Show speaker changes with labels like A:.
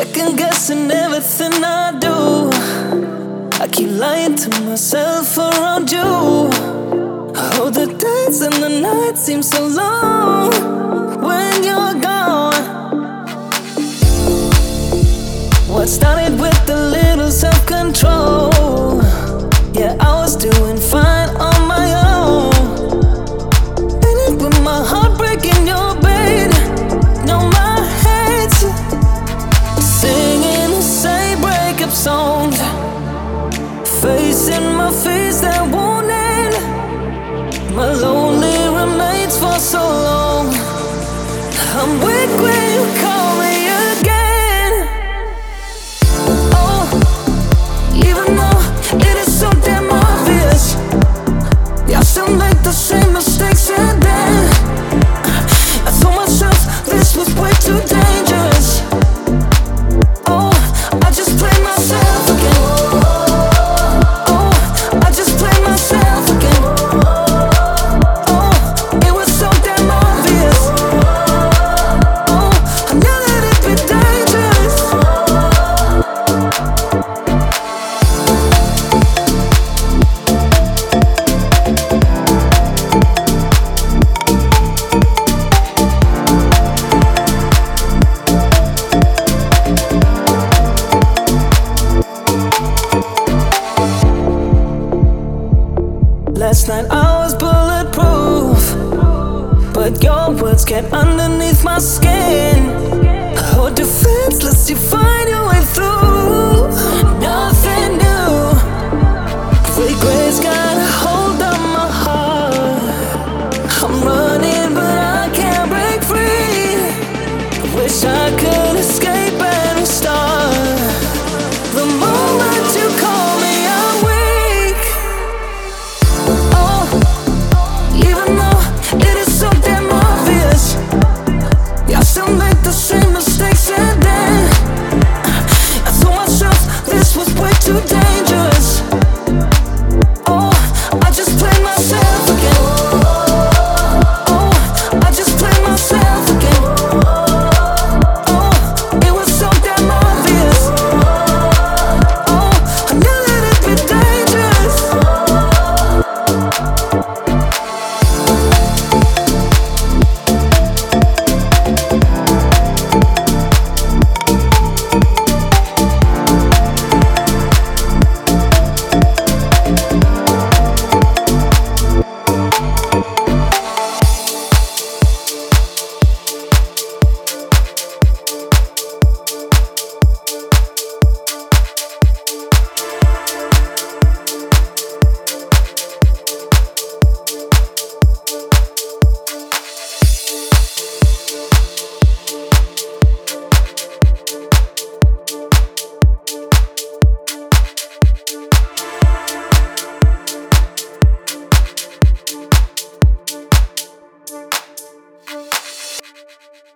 A: second guessing everything I do. I keep lying to myself around you. Oh, the days and the nights seem so long when you're gone. What started with a little self-control, yeah, I was doing fine on my own. And it with my heart breaking your bed. No, my head's singing the same breakup songs, facing my face that won't end. My lonely remains for so long. I'm weak when you call me again. Oh, even though it is so damn obvious, I still make the same mistakes. And then I told myself this was way too dangerous. Oh, I just played myself again. Oh, I just played myself again. Oh, it was so damn obvious. Oh, I knew that it'd be dangerous. Last night I was bulletproof, but your words get underneath my skin. Oh, defenseless, you find your way through.